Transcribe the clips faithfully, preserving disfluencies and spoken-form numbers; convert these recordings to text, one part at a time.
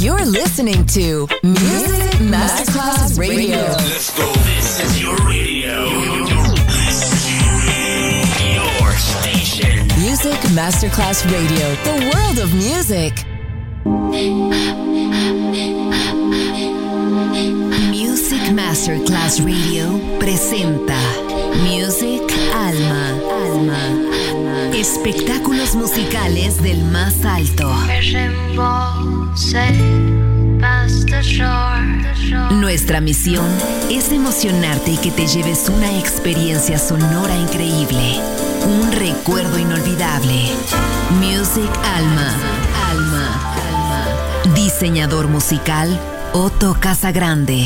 You're listening to Music Masterclass Radio. Let's go. This is your radio. Your station. Music Masterclass Radio. The world of music. Music Masterclass Radio presenta Music Alma. Alma. Espectáculos musicales del más alto. Nuestra misión es emocionarte y que te lleves una experiencia sonora increíble, un recuerdo inolvidable. Music Alma. Alma. Alma. Diseñador musical Otto Casagrande.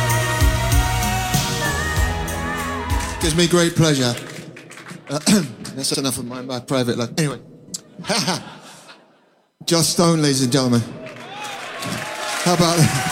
Gives me great pleasure uh, That's enough of my, my private life. Anyway. Joss Stone, ladies and gentlemen. How about that?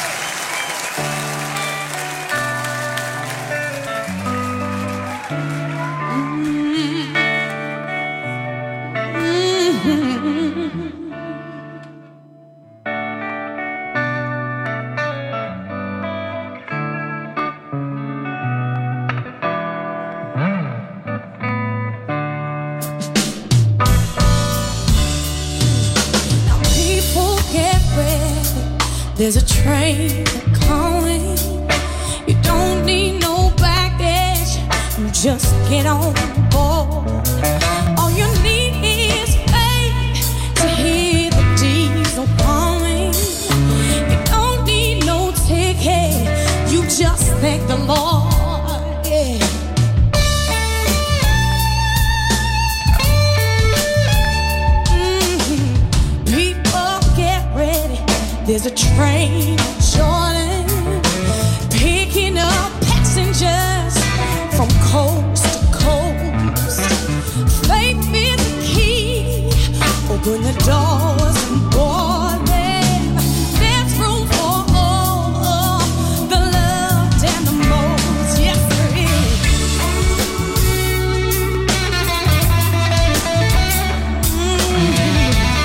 There's a train coming. You don't need no baggage. You just get on board. All you need is faith to hear the diesel coming. You don't need no ticket. You just thank the Lord. Yeah. Mm-hmm. People get ready. There's a train Jordan picking up passengers from coast to coast. Faith is the key. Open the doors and board them. There's room for all of the loved and the most. Yes, there is. Mm-hmm.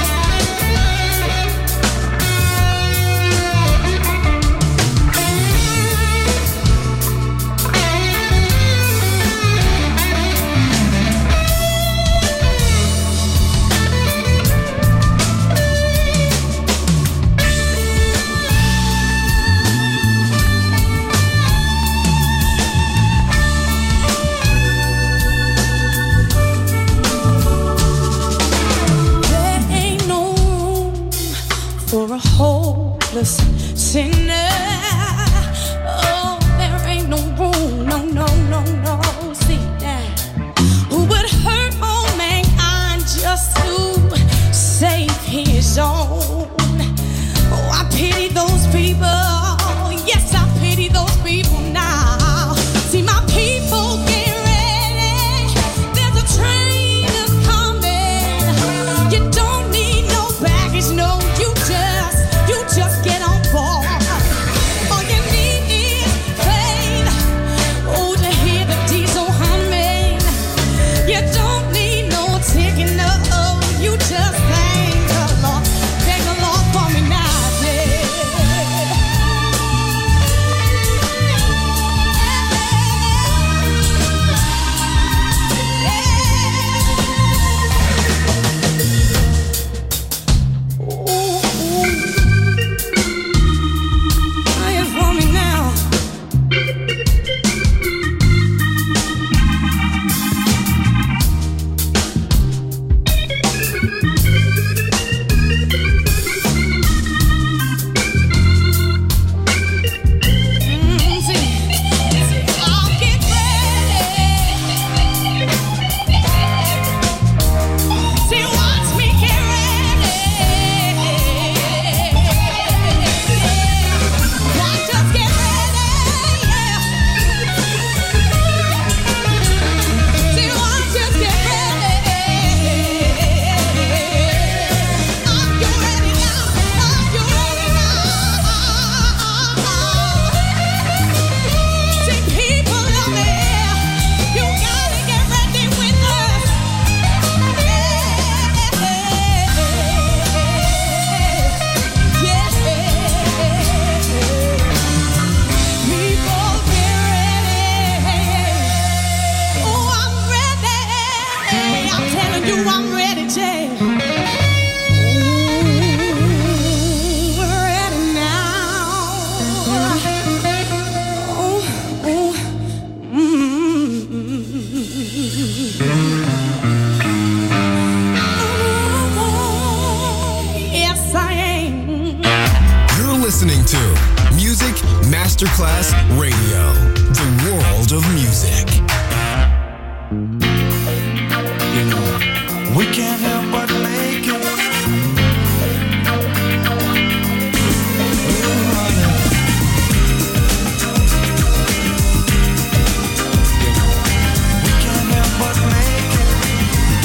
Hopeless sinner. Oh, there ain't no room, no, no, no, no. See that? Who would hurt all mankind just to save his own? Oh, I pity those people. Yes, I pity those people now. See, my people get ready. There's a train that's coming. You don't need no baggage, no. You just You just get on board. All you need is faith. Oh, to hear the diesel humming. You don't need no ticket, no. You just thank the Lord. Thank the Lord for me now, listening to Music Masterclass Radio, the world of music. You know, we can't help but make it. We can't help but make it.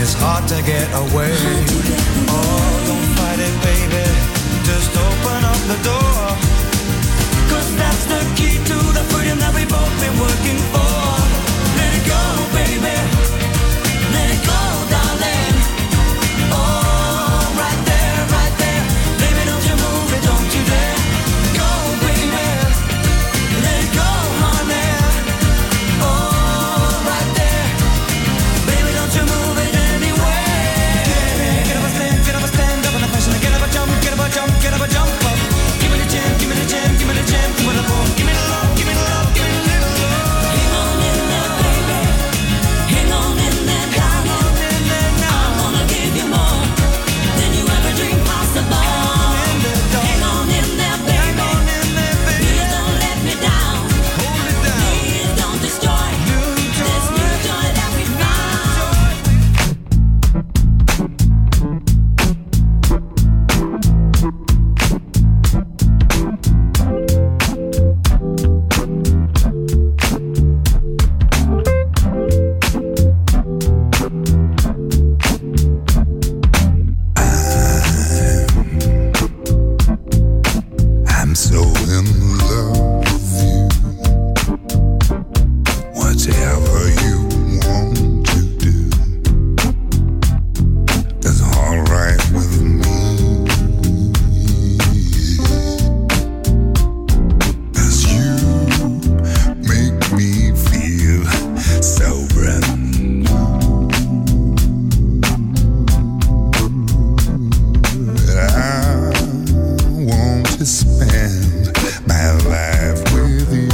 it's hard to get away. Oh, don't fight it, baby, just open up the door. Cause that's the key to the freedom that we've both been working for. Let it go, baby, let it go, darling. Oh, right there, right there, baby, don't you move it, don't you dare. Go, baby, let it go, honey. Oh, right there, baby, don't you move it anywhere. Get up a stand, get up a stand up in the fashion, get up a jump, get up a jump, get up a jump up. Give me the jam, give me the jam, give me the jam, give me the boom, give me the love, give me the love, give me the little love. Hang on in there, baby, hang on in there, darling. I wanna give you more than you ever dreamed possible. Hang on in there, baby, please don't let me down. Please don't destroy this new joy that we found. I'm so in love with you. Whatever you want to do is alright with me. 'Cause you make me feel so brand new. I want to spend my life with you.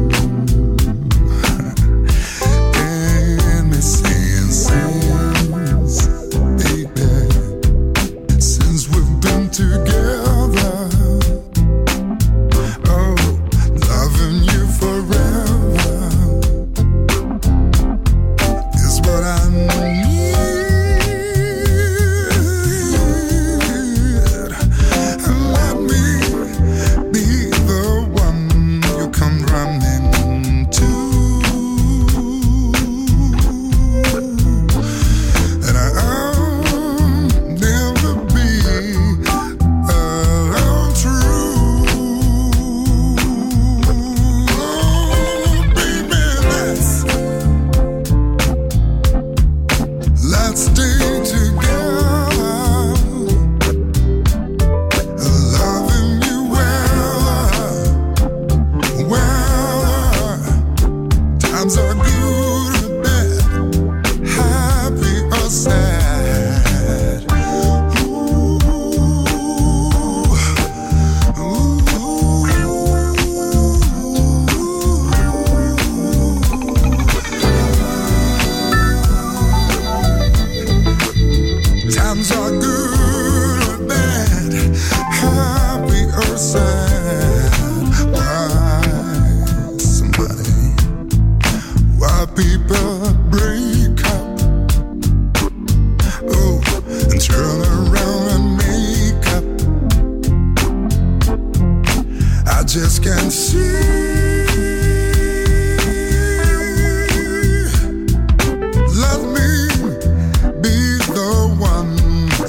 And me saying since, baby, since we've been together, oh, loving you forever is what I need. And let me be the one you come running to. And I'll never be untrue. Oh, baby, let's let's stay together. Loving you well, well. Times are good or bad, happy or sad. Ooh, ooh. Times are good or bad, happy or sad. Why, somebody, why people break up, oh, and turn around and make up. I just can't see. Let me be the one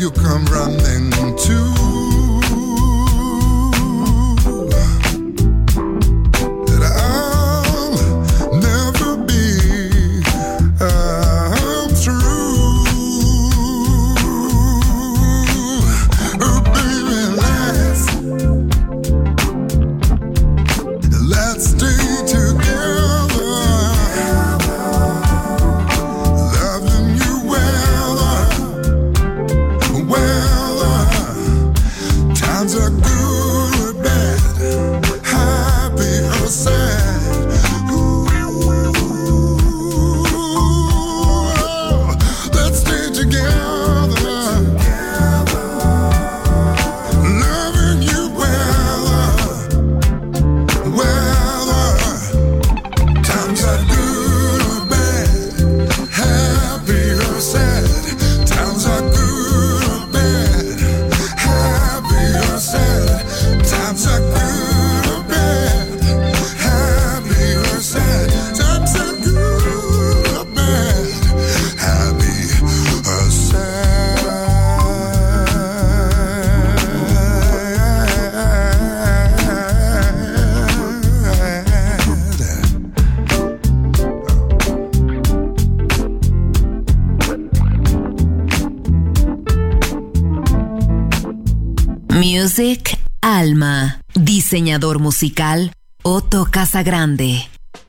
Music Alma. Diseñador musical Otto Casagrande.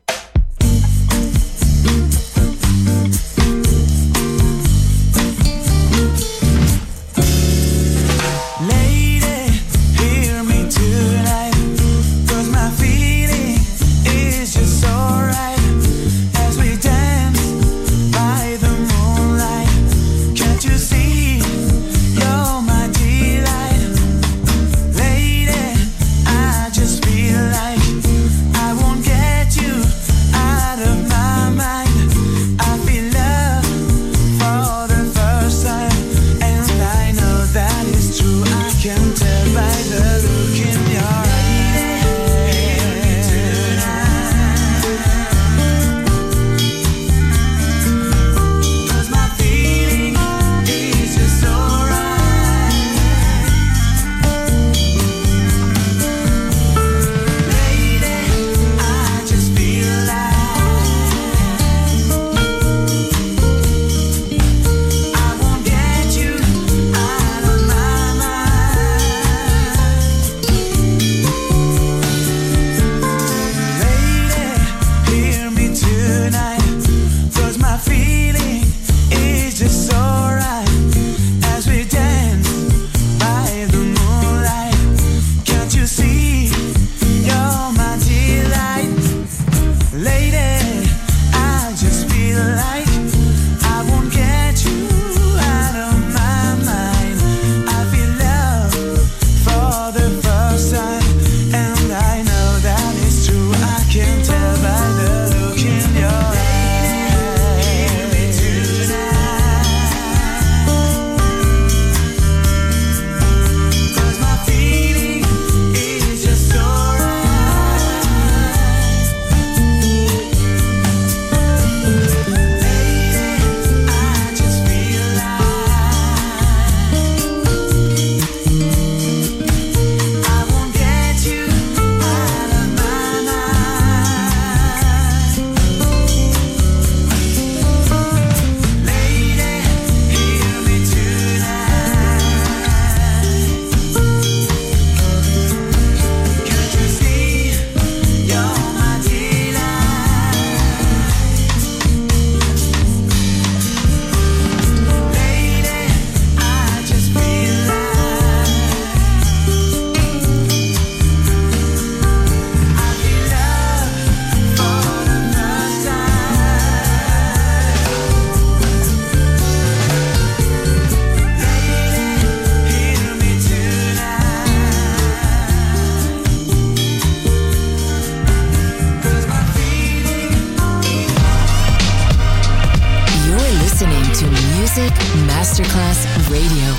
Masterclass Radio.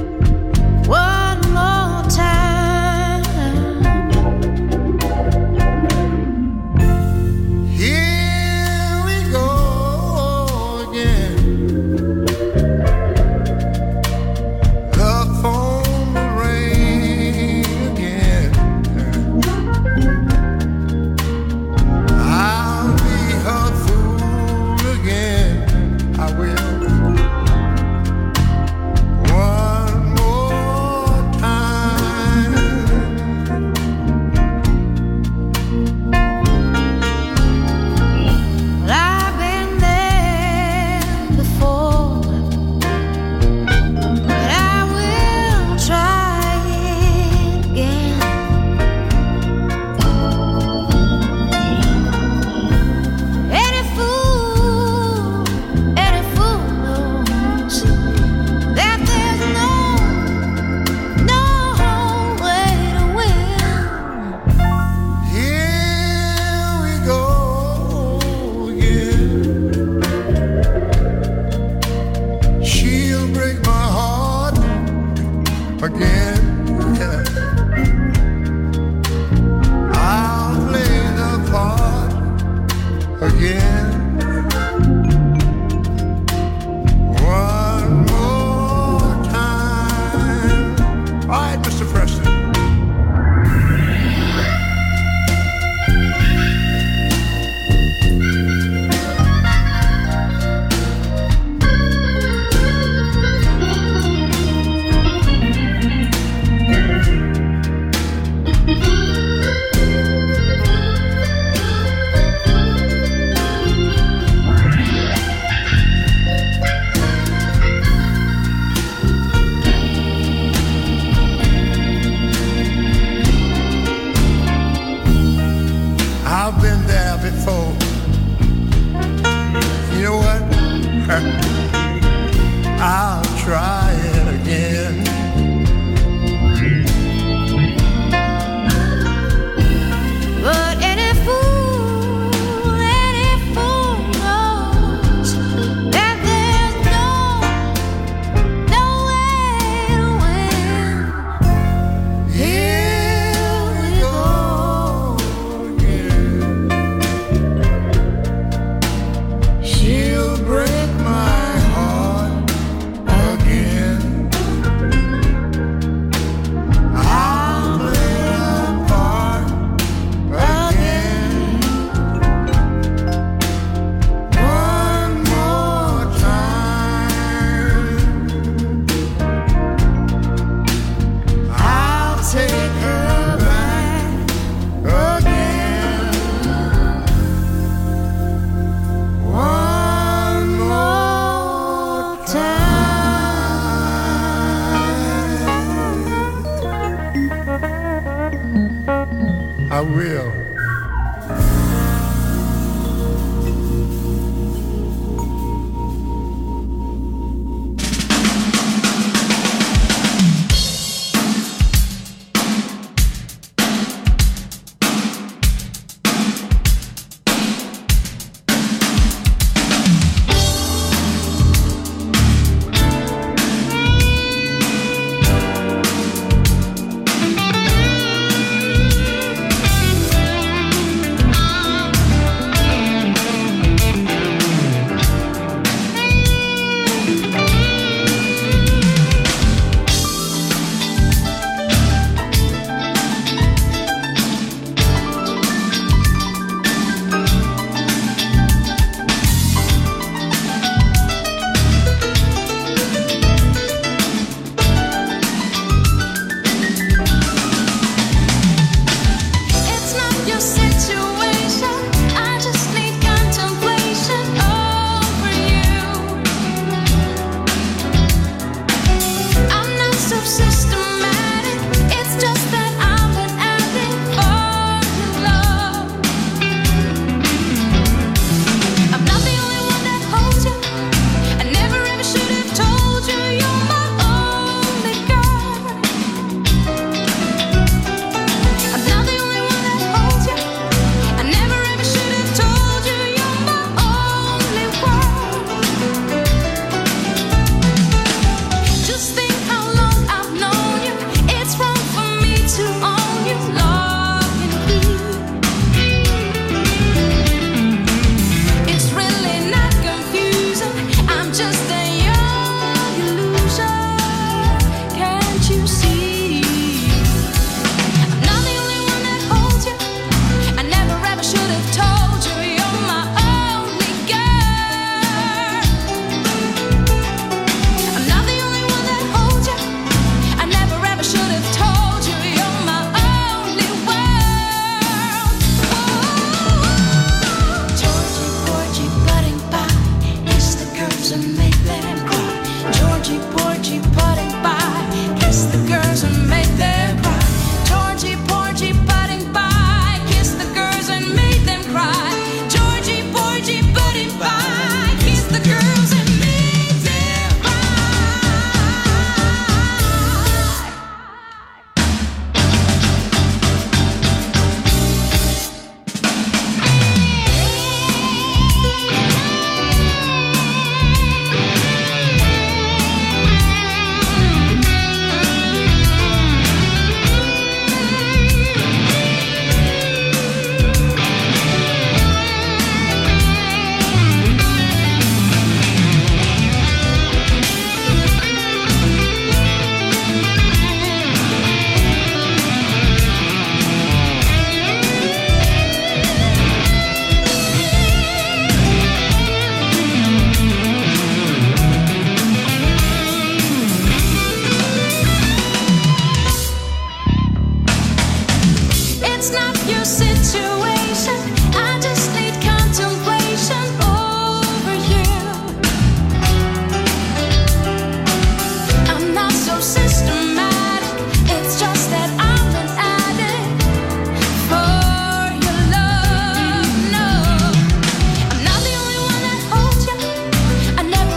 One more time. I'll try it again. But any fool, any fool knows that there's no, no way to win. Here we go again. She'll break my heart again. I'll play a part again. One more time. I'll take her back again. One more time. I will. It's not your situation. I just need contemplation over you. I'm not so systematic. It's just that I'm an addict for your love. I'm not the only one that holds you. I never ever should have told you you're my only girl. I'm not the only one that holds you. I never ever should have told you you're my only world. Just think how long I've known you. It's wrong for me to own you, lock and key. It's really not confusing. I'm just a young illusion. Can't you see? I'm not the only one that holds you. I never ever should have told you you're my only girl. I'm not the only one that holds you. I never ever should have told you you're my only world. Georgie, Porgy, budding by, kiss the girls and make them cry. Georgie, Porgy, budding by, kiss the girls and make them cry. Georgie, Porgy, budding by, kiss the girls and make them cry. Georgie, Porgy, budding by, kiss the girls and make them It's not your situation. I just need contemplation over you. I'm not so systematic. It's just that I'm an addict for your love. No, I'm not the only one that holds you. I never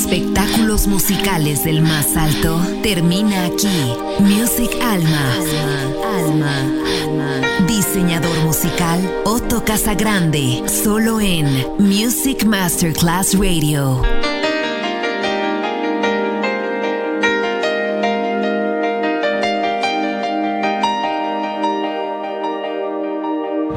Espectáculos musicales del más alto termina aquí. Music Alma. Alma. Alma. Diseñador musical Otto Casagrande. Solo en Music Masterclass Radio.